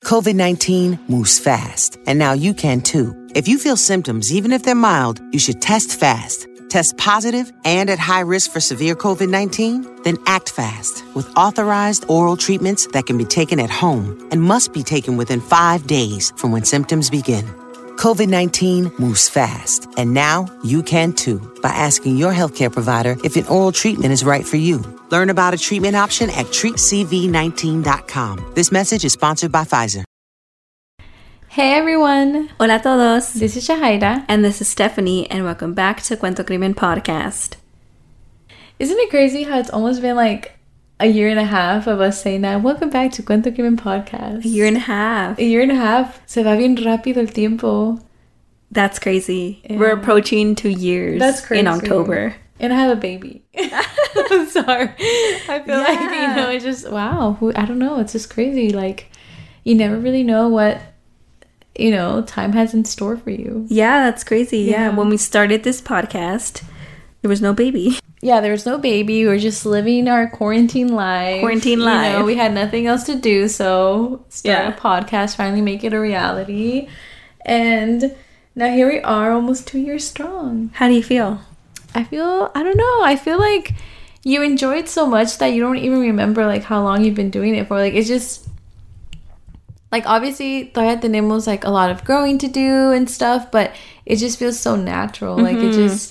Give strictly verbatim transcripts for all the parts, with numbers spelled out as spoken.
COVID nineteen moves fast, and now you can too. If you feel symptoms, even if they're mild, you should test fast. Test positive and at high risk for severe COVID nineteen? Then act fast with authorized oral treatments that can be taken at home and must be taken within five days from when symptoms begin. COVID nineteen moves fast, and now you can too by asking your healthcare provider if an oral treatment is right for you. Learn about a treatment option at treat c v nineteen dot com. This message is sponsored by Pfizer. Hey everyone! Hola a todos! This is Shahaira. And this is Stephanie, and welcome back to Cuento Crimen Podcast. Isn't it crazy how it's almost been like a year and a half of us saying that? Welcome back to Cuento Crimen Podcast. A year and a half. A year and a half. Se va bien rápido el tiempo. That's crazy. Yeah. We're approaching two years. That's crazy. In October. And I have a baby. I'm sorry. I feel yeah. like, you know, it's just, wow. Who, I don't know. It's just crazy. Like, you never really know what, you know, time has in store for you. Yeah, that's crazy. Yeah. yeah. When we started this podcast, there was no baby. Yeah, there was no baby. We were just living our quarantine life. Quarantine life. You know, we had nothing else to do, so start yeah. a podcast, finally make it a reality. And now here we are, almost two years strong. How do you feel? I feel, I don't know, I feel like you enjoy it so much that you don't even remember, like, how long you've been doing it for. Like, it's just, like, obviously, todavía tenemos, like, a lot of growing to do and stuff, but it just feels so natural. Mm-hmm. Like, it just,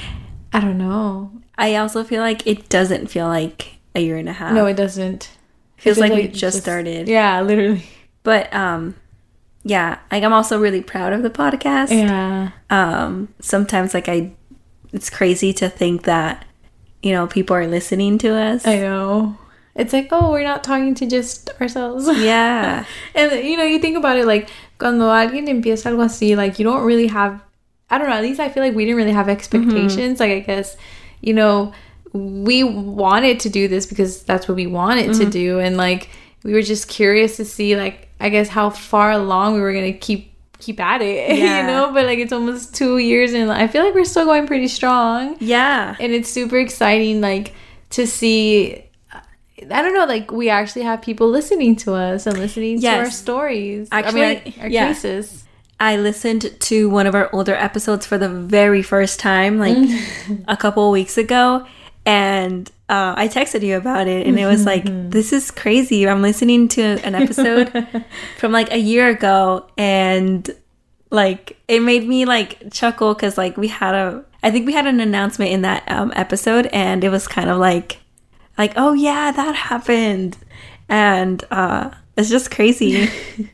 I don't know. I also feel like it doesn't feel like a year and a half. No, it doesn't. It feels, it feels like, like we just, just started. Yeah, literally. But, um... yeah, like, I'm also really proud of the podcast. Yeah. Um, sometimes, like, I... It's crazy to think that, you know, people are listening to us. I know. It's like, oh, we're not talking to just ourselves. Yeah. And, you know, you think about it, like, cuando alguien empieza algo así, like, you don't really have... I don't know, at least I feel like we didn't really have expectations. Mm-hmm. Like, I guess, you know, we wanted to do this because that's what we wanted mm-hmm. to do. And, like, we were just curious to see, like, I guess how far along we were going to keep keep at it, yeah. you know? But, like, it's almost two years and I feel like we're still going pretty strong. Yeah. And it's super exciting, like, to see... I don't know, like, we actually have people listening to us and listening yes. to our stories. Actually, I mean, our, our yeah. cases. I listened to one of our older episodes for the very first time, like, a couple of weeks ago. And uh, I texted you about it, and it was like, this is crazy. I'm listening to an episode from, like, a year ago, and, like, it made me, like, chuckle because, like, we had a... I think we had an announcement in that um, episode, and it was kind of like, like, oh, yeah, that happened. And uh, it's just crazy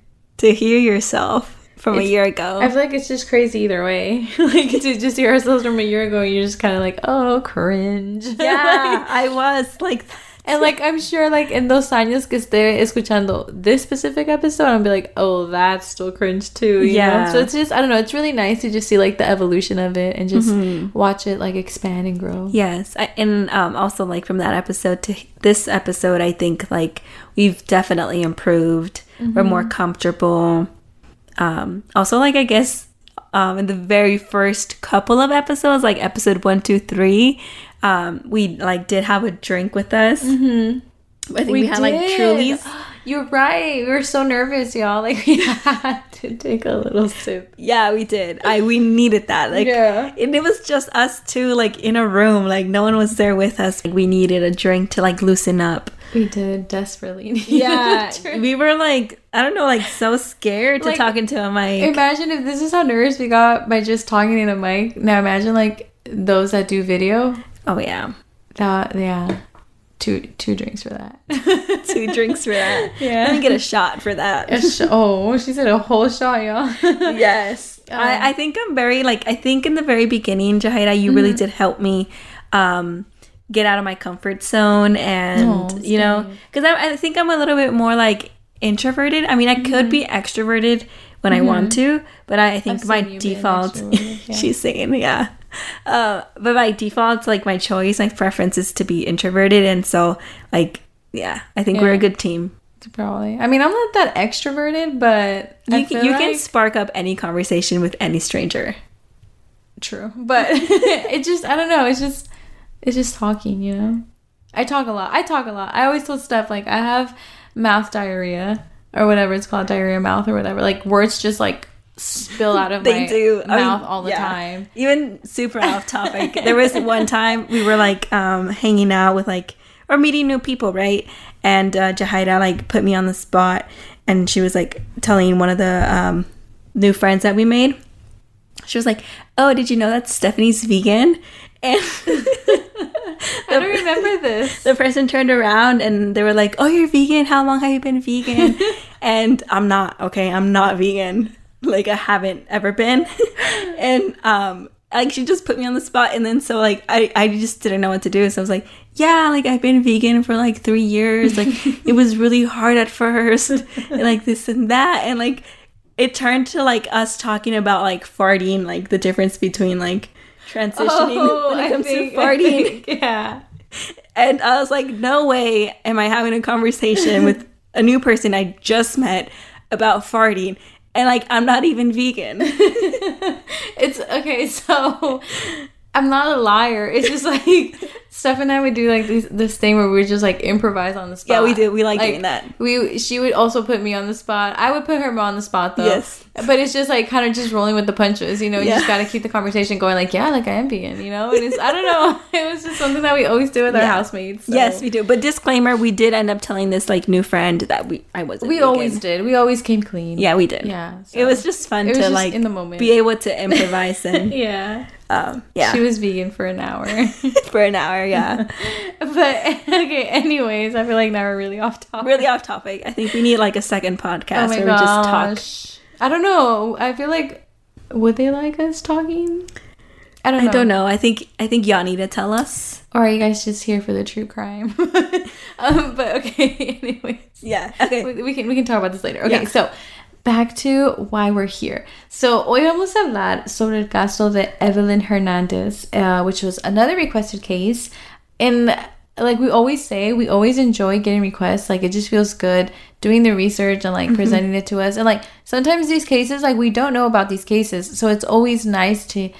to hear yourself from it's, a year ago. I feel like it's just crazy either way. Like, to just hear ourselves from a year ago, you're just kind of like, oh, cringe. Yeah, like, I was like that. And, like, I'm sure, like, in those años que esté escuchando this specific episode, I'll be like, oh, that's still cringe too. You yeah. know? So it's just, I don't know, it's really nice to just see, like, the evolution of it and just mm-hmm. watch it, like, expand and grow. Yes. I, and um, also, like, from that episode to this episode, I think, like, we've definitely improved. Mm-hmm. We're more comfortable. Um, also, like, I guess um, in the very first couple of episodes, like episode one, two, three, um, we, like, did have a drink with us. Mm-hmm. I think we, we had, did. like, Trulies. You're right. We were so nervous, y'all. Like, we had to take a little sip. Yeah, we did. I We needed that. Like, yeah. And it was just us two, like, in a room. Like, no one was there with us. Like, we needed a drink to, like, loosen up. We did desperately need yeah we were like, I don't know, like, so scared to like, talk into a mic. Imagine if this is how nervous we got by just talking in a mic. Now imagine, like, those that do video. Oh yeah that yeah two two drinks for that. Two drinks for that. Yeah, let me get a shot for that. A sh- oh she said a whole shot, y'all. Yes. um, I, I think I'm very, like, I think in the very beginning, Jahaira, you mm-hmm. really did help me um get out of my comfort zone, and oh, you know, because I, I think I'm a little bit more, like, introverted. I mean, I mm-hmm. could be extroverted when mm-hmm. I want to, but I, I think I've my default yeah. She's singing, yeah uh but by default, like, my choice, my preference is to be introverted, and so, like, yeah, I think yeah. we're a good team. Probably. I mean, I'm not that extroverted, but you can, you like... can spark up any conversation with any stranger. True, but it just, I don't know, it's just It's just talking, you know? I talk a lot. I talk a lot. I always told Steph, like, I have mouth diarrhea. or whatever it's called, diarrhea mouth or whatever. Like words just like spill out of they my do. mouth I mean, all the yeah. time. Even super off topic. There was one time we were like um, hanging out with like, or meeting new people, right? And uh, Jahaira like put me on the spot, and she was like telling one of the um, new friends that we made. She was like, "Oh, did you know that Stephanie's vegan?" And I don't remember this. The person turned around and they were like, "Oh, you're vegan? How long have you been vegan?" And I'm not, okay? I'm not vegan. Like, I haven't ever been. And, um, like, she just put me on the spot. And then, so, like, I, I just didn't know what to do. So I was like, yeah, like, I've been vegan for, like, three years. Like, it was really hard at first. And, like, this and that. And, like, it turned to, like, us talking about, like, farting, like, the difference between, like, transitioning oh, when it comes I think, to farting. I think, yeah. And I was like, no way am I having a conversation with a new person I just met about farting. And, like, I'm not even vegan. It's, okay, so I'm not a liar. It's just, like, Steph and I would do, like, this, this thing where we would just, like, improvise on the spot. Yeah, we do. We like, like doing that. We She would also put me on the spot. I would put her on the spot, though. Yes. But it's just, like, kind of just rolling with the punches, you know? You Yeah. just got to keep the conversation going, like, yeah, like, I am vegan, you know? And it's, I don't know. It was just something that we always do with our Yeah. housemates. So. Yes, we do. But disclaimer, we did end up telling this, like, new friend that we I wasn't We vegan. always did. We always came clean. Yeah, we did. Yeah. So. It was just fun It was to, just like, in the moment. be able to improvise and, Yeah. um, yeah. She was vegan for an hour. For an hour, yeah. But, okay, anyways, I feel like now we're really off topic. Really off topic. I think we need, like, a second podcast Oh my where gosh. we just talk. I don't know. I feel like, would they like us talking? I don't know. I don't know. I think I think y'all need to tell us. Or are you guys just here for the true crime? um, but okay, anyways. Yeah. Okay. We, we can we can talk about this later. Okay, Yeah. so back to why we're here. So hoy vamos a hablar sobre el caso de Evelyn Hernandez, uh, which was another requested case. And like we always say, we always enjoy getting requests. Like it just feels good doing the research and like mm-hmm. presenting it to us. And like sometimes these cases, like we don't know about these cases. So it's always nice to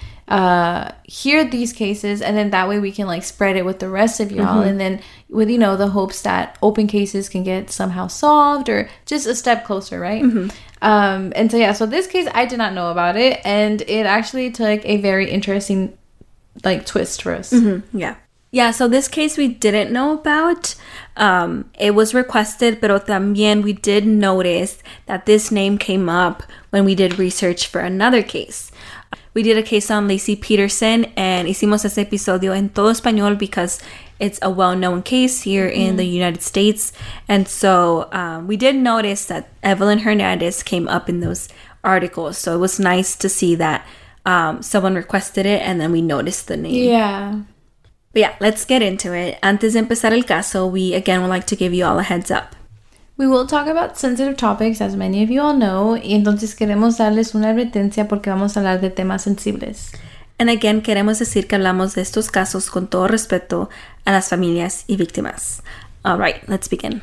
uh hear these cases, and then that way we can like spread it with the rest of y'all, mm-hmm. and then with, you know, the hopes that open cases can get somehow solved or just a step closer, right? Mm-hmm. Um and so yeah, so this case I did not know about it, and it actually took a very interesting like twist for us. Mm-hmm. Yeah. Yeah, so this case we didn't know about. Um, it was requested, pero también we did notice that this name came up when we did research for another case. We did a case on Laci Peterson, and hicimos ese episodio en todo español because it's a well-known case here in mm. the United States. And so um, we did notice that Evelyn Hernandez came up in those articles. So it was nice to see that um, someone requested it, and then we noticed the name. Yeah. But yeah, let's get into it. Antes de empezar el caso, we again would like to give you all a heads up. We will talk about sensitive topics, as many of you all know, y entonces queremos darles una advertencia porque vamos a hablar de temas sensibles. And again, queremos decir que hablamos de estos casos con todo respeto a las familias y víctimas. All right, let's begin.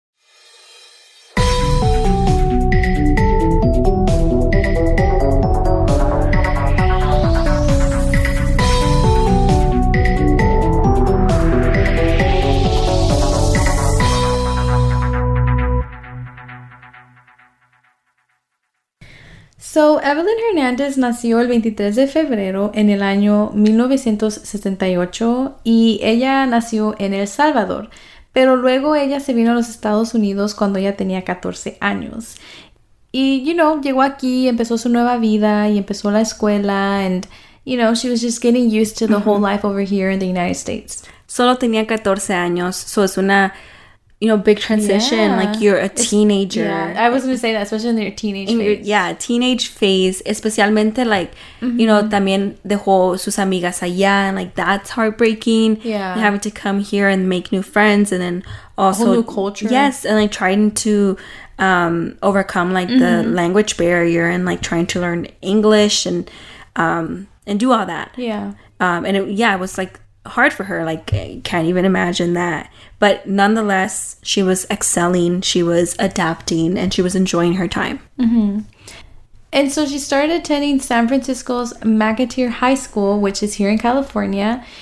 So, Evelyn Hernandez nació el veintitrés de febrero en el año mil novecientos setenta y ocho y ella nació en El Salvador, pero luego ella se vino a los Estados Unidos cuando ella tenía catorce años. Y, you know, llegó aquí, empezó su nueva vida y empezó la escuela, and, you know, she was just getting used to the mm-hmm. whole life over here in the United States. Solo tenía catorce años, so es una... you know, big transition. Yeah. Like, you're a teenager. Yeah, I was going to say that, especially in your teenage in phase. Your, yeah, teenage phase. Especialmente, like, mm-hmm. you know, también dejó sus amigas allá. And, like, that's heartbreaking. Yeah. And having to come here and make new friends. And then also... a whole new culture. Yes. And, like, trying to um, overcome, like, mm-hmm. the language barrier. And, like, trying to learn English. And, um, and do all that. Yeah. Um, and, it, yeah, it was, like... hard for her. Like, I can't even imagine that. But nonetheless, she was excelling, she was adapting, and she was enjoying her time. Mm-hmm. And so she started attending San Francisco's McAteer High School, which is here in California.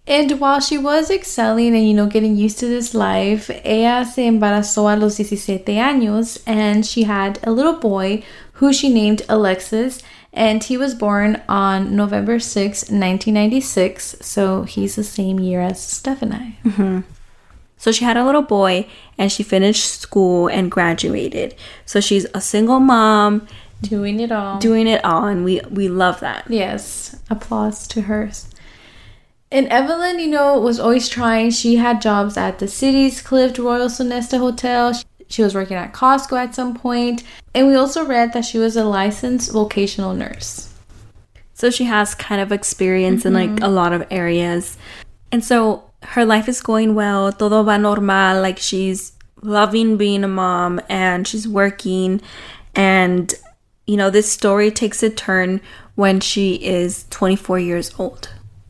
And while she was excelling and, you know, getting used to this life, ella se embarazó a los diecisiete años, and she had a little boy who she named Alexis, and he was born on November sixth, nineteen ninety-six, so he's the same year as Steph and I. Mm-hmm. So she had a little boy, and she finished school and graduated. So she's a single mom. Doing it all. Doing it all, and we, we love that. Yes, applause to her. And Evelyn, you know, was always trying. She had jobs at the city's Clift Royal Sonesta Hotel. She was working at Costco at some point. And we also read that she was a licensed vocational nurse. So she has kind of experience mm-hmm. in like a lot of areas. And so her life is going well. Todo va normal. Like she's loving being a mom and she's working. And, you know, this story takes a turn when she is twenty-four years old.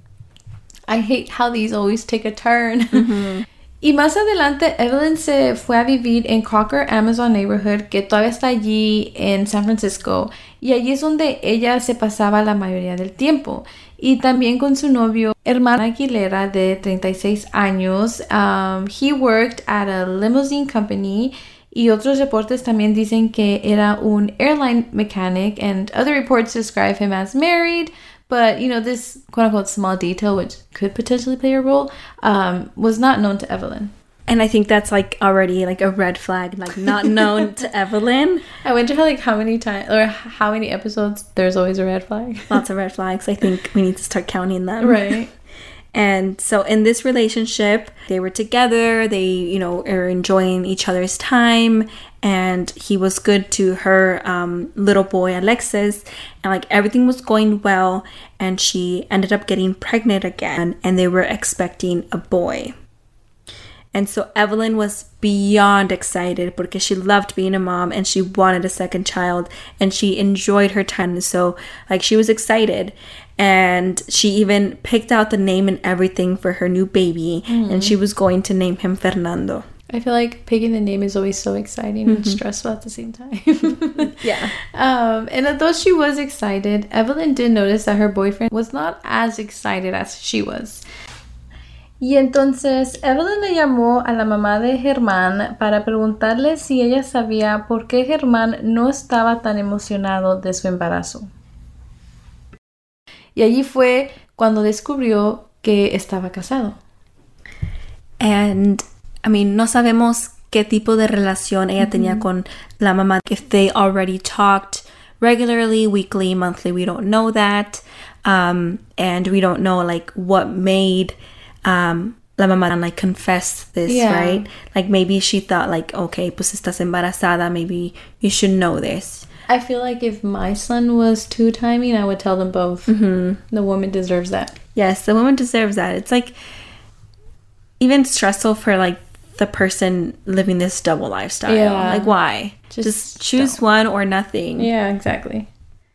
I hate how these always take a turn. Mm-hmm. Y más adelante, Evelyn se fue a vivir en Crocker Amazon Neighborhood, que todavía está allí en San Francisco. Y allí es donde ella se pasaba la mayoría del tiempo. Y también con su novio, Herman Aguilera, de treinta y seis años. Um, he worked at a limousine company. Y otros reportes también dicen que era un airline mechanic. And other reports describe him as married. But, you know, this quote-unquote small detail, which could potentially play a role, um, was not known to Evelyn. And I think that's, like, already, like, a red flag, like, not known to Evelyn. I wonder how, like, how many times, or how many episodes there's always a red flag. Lots of red flags. I think we need to start counting them. Right. And so in this relationship, they were together, they, you know, are enjoying each other's time, and he was good to her um, little boy, Alexis, and like everything was going well, and she ended up getting pregnant again, and they were expecting a boy. And so Evelyn was beyond excited because she loved being a mom and she wanted a second child and she enjoyed her time. So like she was excited and she even picked out the name and everything for her new baby mm. and she was going to name him Fernando. I feel like picking the name is always so exciting mm-hmm. and stressful at the same time. Yeah. Um, and although she was excited, Evelyn did notice that her boyfriend was not as excited as she was. Y entonces Evelyn le llamó a la mamá de Germán para preguntarle si ella sabía por qué Germán no estaba tan emocionado de su embarazo. Y allí fue cuando descubrió que estaba casado. And, I mean, no sabemos qué tipo de relación ella mm-hmm. tenía con la mamá. If they already talked regularly, weekly, monthly, we don't know that. Um, and we don't know, like, what made... Um, la mamá like confessed this, yeah. right? Like maybe she thought like, okay, pues estás embarazada, maybe you should know this. I feel like if my son was two-timing, I would tell them both. Mm-hmm. The woman deserves that. Yes, the woman deserves that. It's like even stressful for like the person living this double lifestyle. Yeah. Like why? Just, Just choose don't. one or nothing. Yeah, exactly.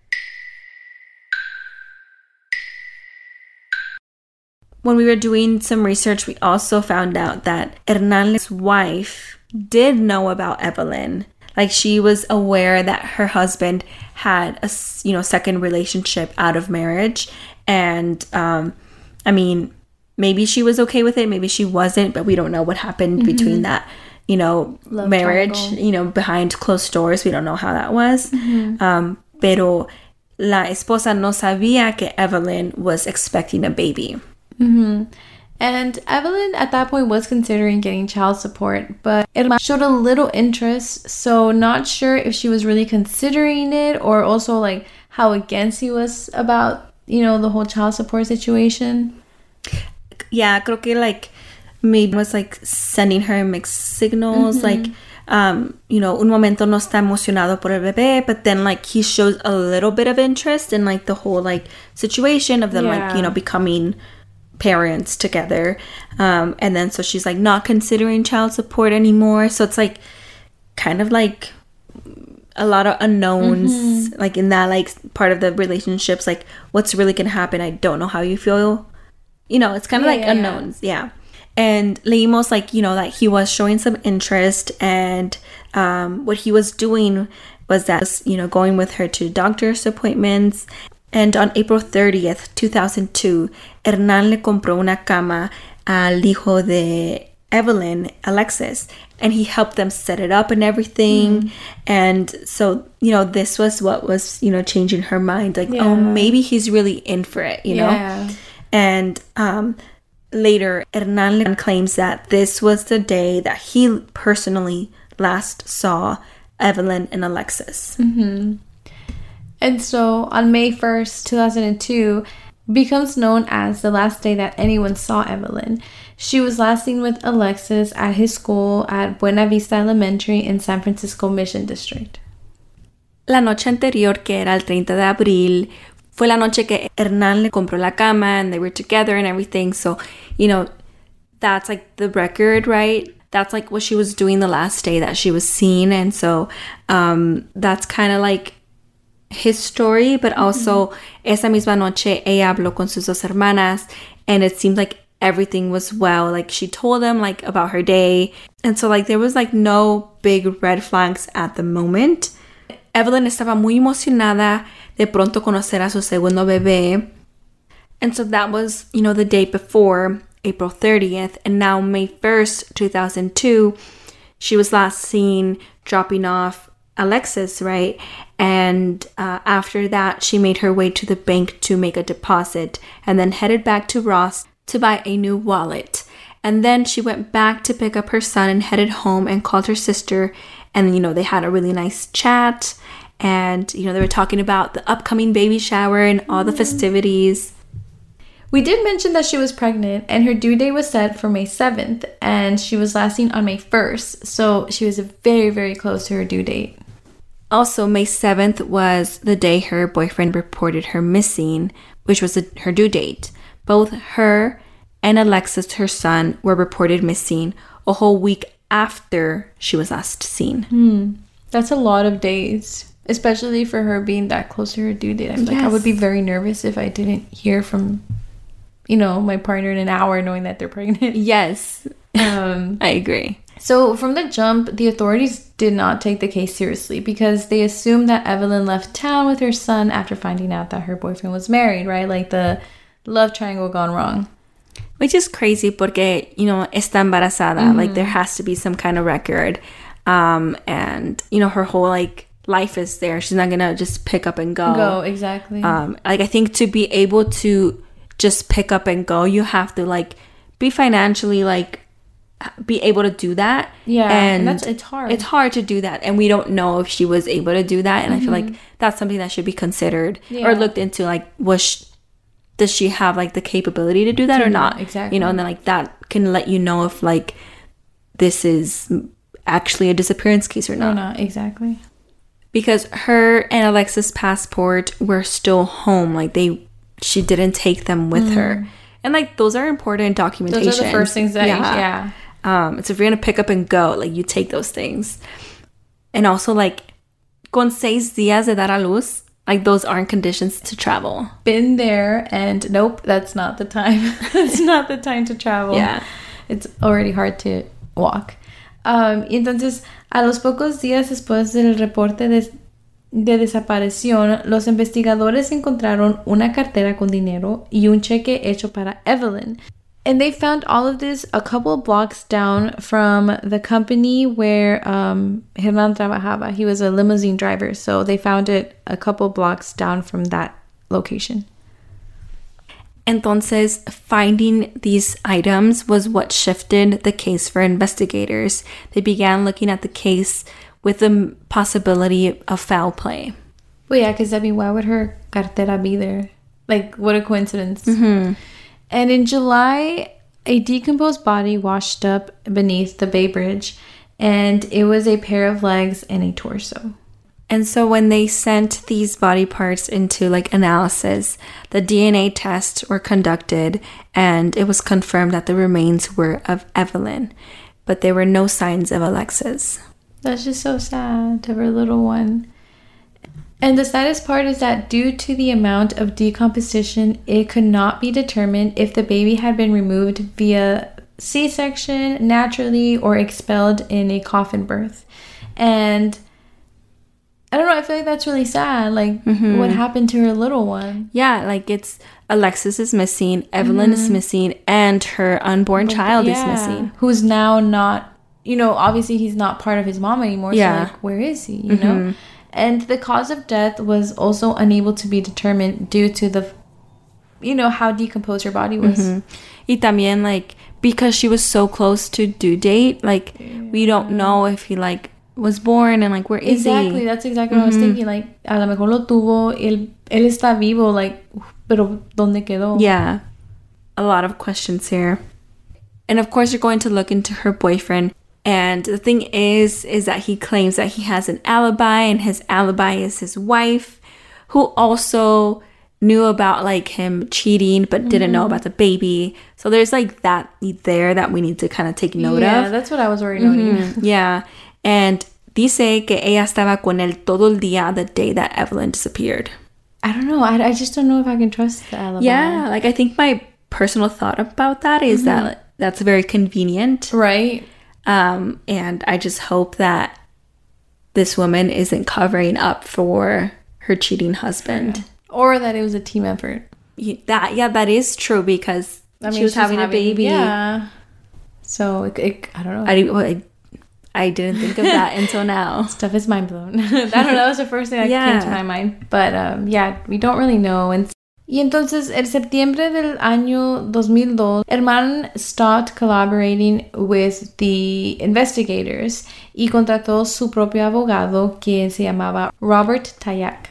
When we were doing some research, we also found out that Hernan's wife did know about Evelyn. Like, she was aware that her husband had a, you know, second relationship out of marriage. And, um, I mean, maybe she was okay with it. Maybe she wasn't. But we don't know what happened mm-hmm. between that, you know, Love marriage, triangle. You know, behind closed doors. We don't know how that was. Mm-hmm. Um, pero la esposa no sabía que Evelyn was expecting a baby. Mm-hmm. And Evelyn at that point was considering getting child support, but Herman showed a little interest, so not sure if she was really considering it or also like how against he was about, you know, the whole child support situation. Yeah, creo que like maybe was like sending her mixed signals, mm-hmm. like um, you know, un momento no está emocionado por el bebé, but then like he shows a little bit of interest in like the whole like situation of them yeah. like, you know, becoming parents together, um and then so she's like not considering child support anymore, so it's like kind of like a lot of unknowns mm-hmm. like in that like part of the relationships, like what's really gonna happen. I don't know how you feel, you know, it's kind of yeah, like yeah, unknowns yeah. yeah and leímos like, you know, that he was showing some interest, and um what he was doing was that, you know, going with her to doctor's appointments. And on April thirtieth, two thousand two, Hernán le compró una cama al hijo de Evelyn, Alexis, and he helped them set it up and everything. Mm. And so, you know, this was what was, you know, changing her mind. Like, yeah. oh, maybe he's really in for it, you know? Yeah. And um, later, Hernán claims that this was the day that he personally last saw Evelyn and Alexis. Mm-hmm. And so on May first, two thousand two, becomes known as the last day that anyone saw Evelyn. She was last seen with Alexis at his school at Buena Vista Elementary in San Francisco Mission District. La noche anterior, que era el treinta de abril, fue la noche que Hernán le compró la cama and they were together and everything. So, you know, that's like the record, right? That's like what she was doing the last day that she was seen. And so um, that's kind of like his story. But also, mm-hmm. esa misma noche, ella habló con sus dos hermanas. And it seemed like everything was well. Like, she told them, like, about her day. And so, like, there was, like, no big red flags at the moment. Evelyn estaba muy emocionada de pronto conocer a su segundo bebé. And so that was, you know, the day before, April thirtieth. And now May first, two thousand two, she was last seen dropping off Alexis, right? And uh, after that, she made her way to the bank to make a deposit and then headed back to Ross to buy a new wallet. And then she went back to pick up her son and headed home and called her sister. And, you know, they had a really nice chat. And, you know, they were talking about the upcoming baby shower and all the festivities. We did mention that she was pregnant and her due date was set for May seventh. And she was last seen on May first. So she was very, very close to her due date. Also, May seventh was the day her boyfriend reported her missing, which was the, her due date. Both her and Alexis, her son, were reported missing a whole week after she was last seen. Hmm. That's a lot of days, especially for her being that close to her due date. I'm yes. like, I would be very nervous if I didn't hear from, you know, my partner in an hour knowing that they're pregnant. Yes, um, I agree. So from the jump, the authorities did not take the case seriously because they assumed that Evelyn left town with her son after finding out that her boyfriend was married, right? Like the love triangle gone wrong. Which is crazy porque, you know, está embarazada. Mm-hmm. Like, there has to be some kind of record. Um, and, you know, her whole, like, life is there. She's not going to just pick up and go. Go, exactly. Um, like, I think to be able to just pick up and go, you have to, like, be financially, like, be able to do that. Yeah, and, and that's, it's hard. It's hard to do that. And we don't know if she was able to do that. And mm-hmm. I feel like that's something that should be considered yeah. or looked into. Like, was she, does she have, like, the capability to do that or not? Exactly. You know, and then, like, that can let you know if, like, this is actually a disappearance case or not. Or not, exactly. Because her and Alexis' passport were still home. Like, they, she didn't take them with mm. her. And, like, those are important documentation. Those are the first things that, yeah. yeah. Um, so if you're going to pick up and go, like, you take those things. And also, like, con seis días de dar a luz, like, those aren't conditions to travel. Been there, and nope, that's not the time. That's not the time to travel. Yeah. It's already hard to walk. Um, y entonces, a los pocos días después del reporte de, de desaparición, los investigadores encontraron una cartera con dinero y un cheque hecho para Evelyn. And they found all of this a couple blocks down from the company where um, Hernán trabajaba. He was a limousine driver, so they found it a couple blocks down from that location. Entonces, finding these items was what shifted the case for investigators. They began looking at the case with the possibility of foul play. Well, yeah, because I mean, why would her cartera be there? Like, what a coincidence. Mm-hmm. And in July, a decomposed body washed up beneath the Bay Bridge, and it was a pair of legs and a torso. And so when they sent these body parts into, like, analysis, the D N A tests were conducted, and it was confirmed that the remains were of Evelyn, but there were no signs of Alexis. That's just so sad to her little one. And the saddest part is that due to the amount of decomposition, it could not be determined if the baby had been removed via C-section, naturally, or expelled in a coffin birth. And I don't know, I feel like that's really sad. Like, mm-hmm. what happened to her little one? Yeah, like it's Alexis is missing, Evelyn mm-hmm. is missing, and her unborn but, child yeah. is missing. Who's now not, you know, obviously he's not part of his mom anymore. Yeah. So, like, where is he, you mm-hmm. know? And the cause of death was also unable to be determined due to the, you know, how decomposed her body was. Mm-hmm. Y también, like, because she was so close to due date, like, yeah. we don't know if he, like, was born and, like, where is exactly, he? Exactly, that's exactly mm-hmm. what I was thinking. Like, a lo mejor lo tuvo, él, él está vivo, like, pero ¿dónde quedó? Yeah, a lot of questions here. And, of course, you're going to look into her boyfriend. And the thing is, is that he claims that he has an alibi, and his alibi is his wife, who also knew about, like, him cheating, but mm-hmm. didn't know about the baby. So there's, like, that there that we need to kind of take note yeah, of. Yeah, that's what I was already noting. Mm-hmm. Yeah. And dice que ella estaba con él todo el día the day that Evelyn disappeared. I don't know. I, I just don't know if I can trust the alibi. Yeah, like, I think my personal thought about that is mm-hmm. that that's very convenient. Right. Um, and I just hope that this woman isn't covering up for her cheating husband. Yeah. Or that it was a team effort. Yeah, that, yeah, that is true because I mean, she was having, having a baby. Yeah. So, it, it, I don't know. I, well, I, I didn't think of that until now. Stuff is mind blown. I don't know. That was the first thing that yeah. came to my mind. But, um, yeah, we don't really know. And Y entonces, en septiembre del año dos mil dos, Herman stopped collaborating with the investigators y contrató su propio abogado, quien se llamaba Robert Tayak.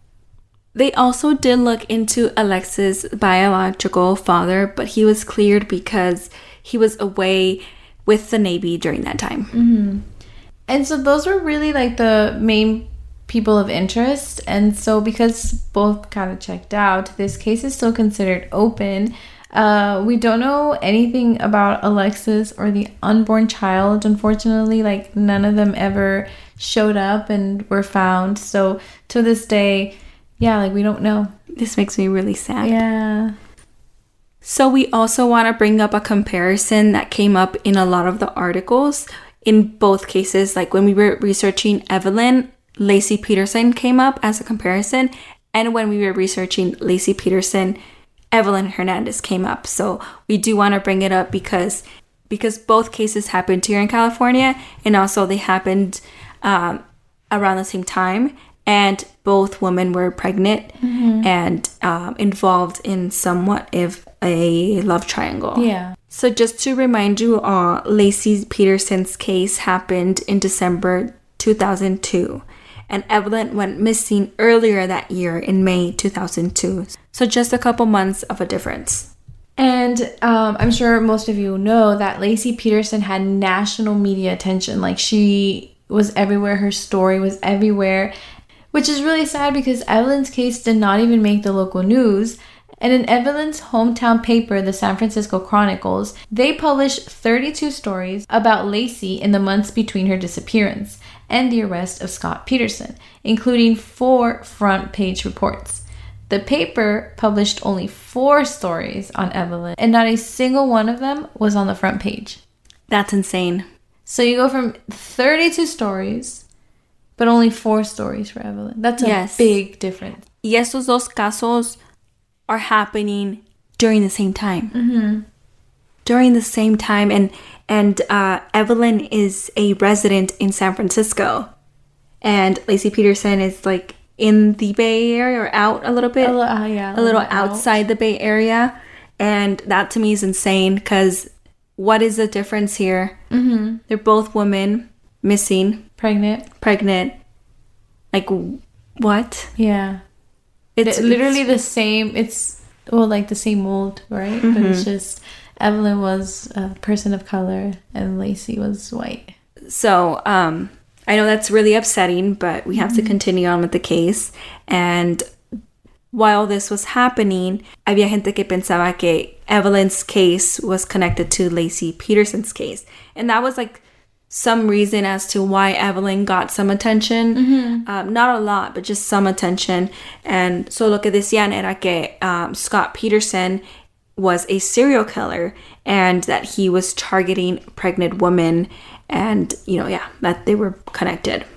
They also did look into Alexis' biological father, but he was cleared because he was away with the Navy during that time. Mm-hmm. And so those were really like the main people of interest, and so because both kind of checked out, this case is still considered open. Uh, we don't know anything about Alexis or the unborn child, unfortunately. Like, none of them ever showed up and were found. So to this day, yeah, like, we don't know. This makes me really sad. Yeah. So we also want to bring up a comparison that came up in a lot of the articles. In both cases, like when we were researching Evelyn, Laci Peterson came up as a comparison, and when we were researching Laci Peterson, Evelyn Hernandez came up. So we do want to bring it up because because both cases happened here in California, and also they happened um, around the same time, and both women were pregnant mm-hmm. and um, involved in somewhat of a love triangle. Yeah. So just to remind you, uh, Laci Peterson's case happened in December two thousand two. And Evelyn went missing earlier that year in May two thousand two. So just a couple months of a difference. And um, I'm sure most of you know that Laci Peterson had national media attention. Like, she was everywhere. Her story was everywhere. Which is really sad because Evelyn's case did not even make the local news. And in Evelyn's hometown paper, the San Francisco Chronicles, they published thirty-two stories about Laci in the months between her disappearance and the arrest of Scott Peterson, including four front page reports. The paper published only four stories on Evelyn, and not a single one of them was on the front page. That's insane. So you go from thirty-two stories, but only four stories for Evelyn. That's a yes. big difference. Y estos dos casos are happening during the same time. Mm-hmm. During the same time, and and uh, Evelyn is a resident in San Francisco, and Laci Peterson is like in the Bay Area or out a little bit, a, uh, yeah, a, a little outside out. the Bay Area, and that to me is insane because what is the difference here? Mm-hmm. They're both women missing, pregnant, pregnant. Like what? Yeah, it's it, literally it's, the same. It's well, like the same mold, right? Mm-hmm. But it's just. Evelyn was a person of color and Laci was white. So, um, I know that's really upsetting, but we have mm-hmm. to continue on with the case. And while this was happening, había gente que pensaba que Evelyn's case was connected to Laci Peterson's case. And that was like some reason as to why Evelyn got some attention. Mm-hmm. Um, not a lot, but just some attention. And so lo que decían era que um, Scott Peterson was a serial killer and that he was targeting pregnant women and, you know, yeah, that they were connected.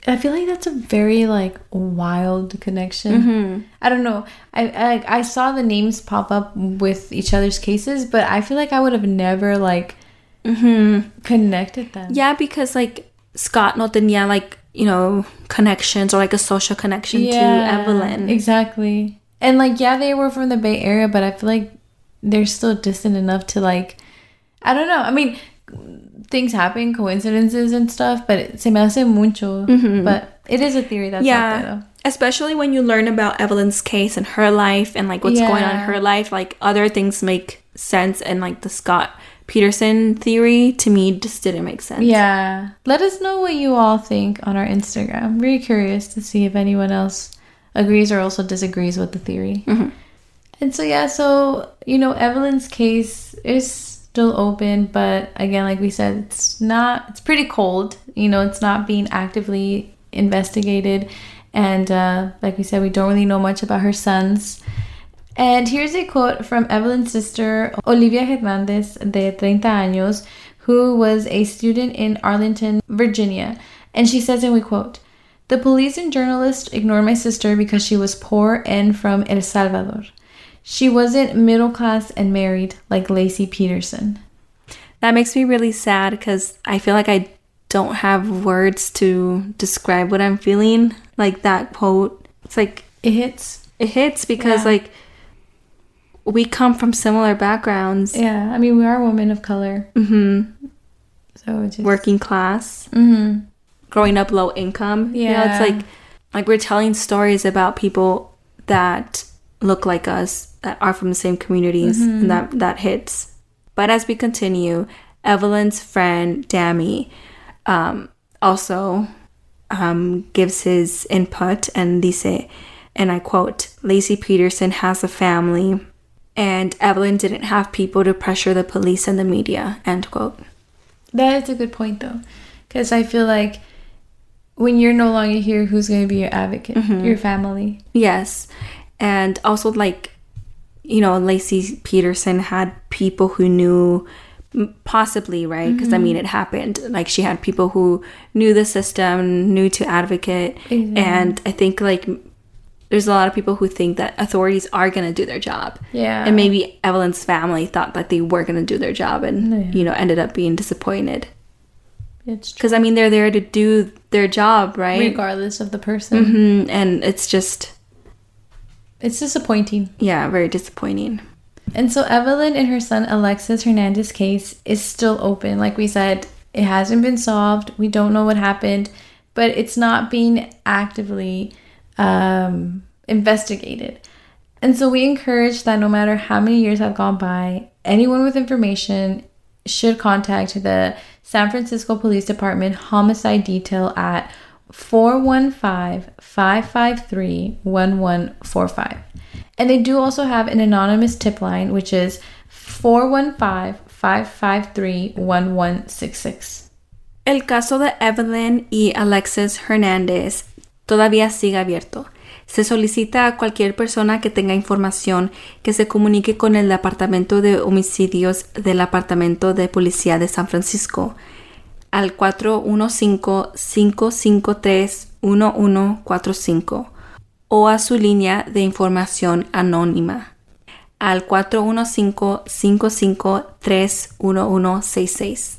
I feel like that's a very like wild connection. Mm-hmm. I don't know. I, I I saw the names pop up with each other's cases, but I feel like I would have never like mm-hmm. connected them. Yeah, because like Scott no tenía like, you know, connections or like a social connection yeah, to Evelyn. Exactly. And like yeah, they were from the Bay Area, but I feel like they're still distant enough to like, I don't know. I mean, things happen, coincidences and stuff, but it, se me hace mucho. Mm-hmm. But it is a theory that's yeah. out there, though. Especially when you learn about Evelyn's case and her life and like what's yeah. going on in her life, like other things make sense, and like the Scott Peterson theory to me just didn't make sense. Yeah. Let us know what you all think on our Instagram. I'm very curious to see if anyone else agrees or also disagrees with the theory. Mm-hmm. And so yeah, so you know, Evelyn's case is still open, but again, like we said, it's not, it's pretty cold, you know, it's not being actively investigated, and uh like we said, we don't really know much about her sons. And here's a quote from Evelyn's sister Olivia Hernandez de treinta años, who was a student in Arlington, Virginia, and she says, and we quote, "The police and journalists ignored my sister because she was poor and from El Salvador. She wasn't middle class and married like Laci Peterson." That makes me really sad because I feel like I don't have words to describe what I'm feeling. Like that quote, it's like it hits. It hits because yeah. like we come from similar backgrounds. Yeah, I mean, we are women of color. Mm-hmm. So just working class. Mm-hmm. Growing up low income. Yeah, you know, it's like like we're telling stories about people that look like us, that are from the same communities, mm-hmm. and that that hits. But as we continue, Evelyn's friend Dammy um, also um, gives his input and dice, and I quote, "Laci Peterson has a family, and Evelyn didn't have people to pressure the police and the media," end quote. That is a good point though, because I feel like when you're no longer here, who's going to be your advocate? Mm-hmm. Your family. Yes. And also, like, you know, Laci Peterson had people who knew, possibly, right? Because, mm-hmm. I mean, it happened. Like, she had people who knew the system, knew to advocate. Mm-hmm. And I think, like, there's a lot of people who think that authorities are going to do their job. Yeah. And maybe Evelyn's family thought that they were going to do their job and, yeah. you know, ended up being disappointed. It's true. Because, I mean, they're there to do their job, right? Regardless of the person. Mm-hmm. And it's just... It's disappointing. Yeah, very disappointing. And so Evelyn and her son Alexis Hernandez case is still open. Like we said, it hasn't been solved. We don't know what happened, but it's not being actively um, investigated. And so we encourage that no matter how many years have gone by, anyone with information should contact the San Francisco Police Department Homicide Detail at four one five, five five three, one one four five. And they do also have an anonymous tip line, which is four one five, five five three, one one six six. El caso de Evelyn y Alexis Hernandez todavía sigue abierto. Se solicita a cualquier persona que tenga información que se comunique con el Departamento de Homicidios del Departamento de Policía de San Francisco al cuatro uno cinco, cinco cinco tres, uno uno cuatro cinco o a su línea de información anónima al cuatro uno cinco, cinco cinco tres, uno uno seis seis.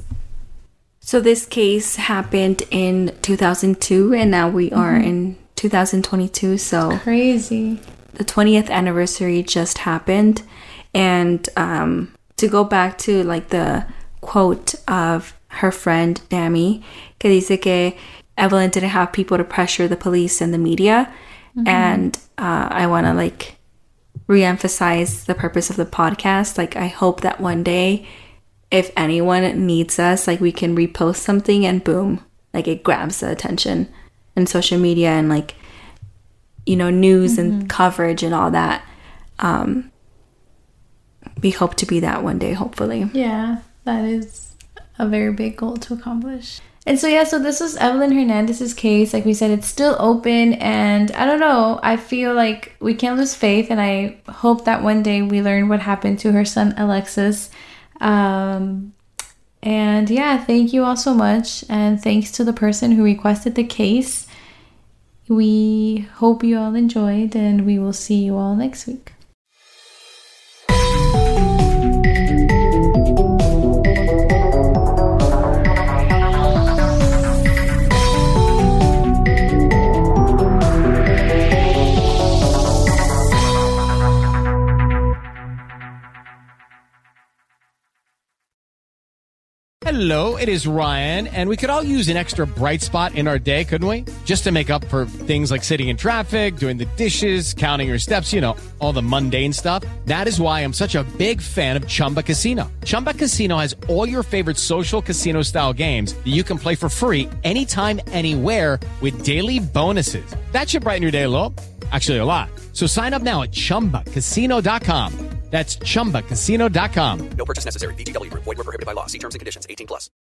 So this case happened in two thousand two and now we are mm-hmm. in two thousand twenty-two. So crazy. The twentieth anniversary just happened. And um, to go back to like the quote of her friend Dammy, que dice que Evelyn didn't have people to pressure the police and the media. Mm-hmm. And uh, I want to like reemphasize the purpose of the podcast. Like, I hope that one day, if anyone needs us, like we can repost something and boom, like it grabs the attention and social media and like, you know, news mm-hmm. and coverage and all that. Um, we hope to be that one day, hopefully. Yeah, that is a very big goal to accomplish. And so yeah, so this was Evelyn Hernandez's case. Like we said, it's still open, and I don't know, I feel like we can't lose faith, and I hope that one day we learn what happened to her son Alexis. Um and yeah, thank you all so much, and thanks to the person who requested the case. We hope you all enjoyed, and we will see you all next week. Hello, it is Ryan, and we could all use an extra bright spot in our day, couldn't we? Just to make up for things like sitting in traffic, doing the dishes, counting your steps, you know, all the mundane stuff. That is why I'm such a big fan of Chumba Casino. Chumba Casino has all your favorite social casino-style games that you can play for free anytime, anywhere with daily bonuses. That should brighten your day a little. Actually, a lot. So sign up now at chumba casino dot com. That's chumba casino dot com. No purchase necessary. V G W Group. Void where prohibited by law. See terms and conditions. eighteen plus.